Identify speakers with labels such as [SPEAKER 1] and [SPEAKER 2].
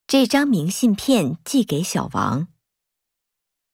[SPEAKER 1] 这张明信片寄给小王。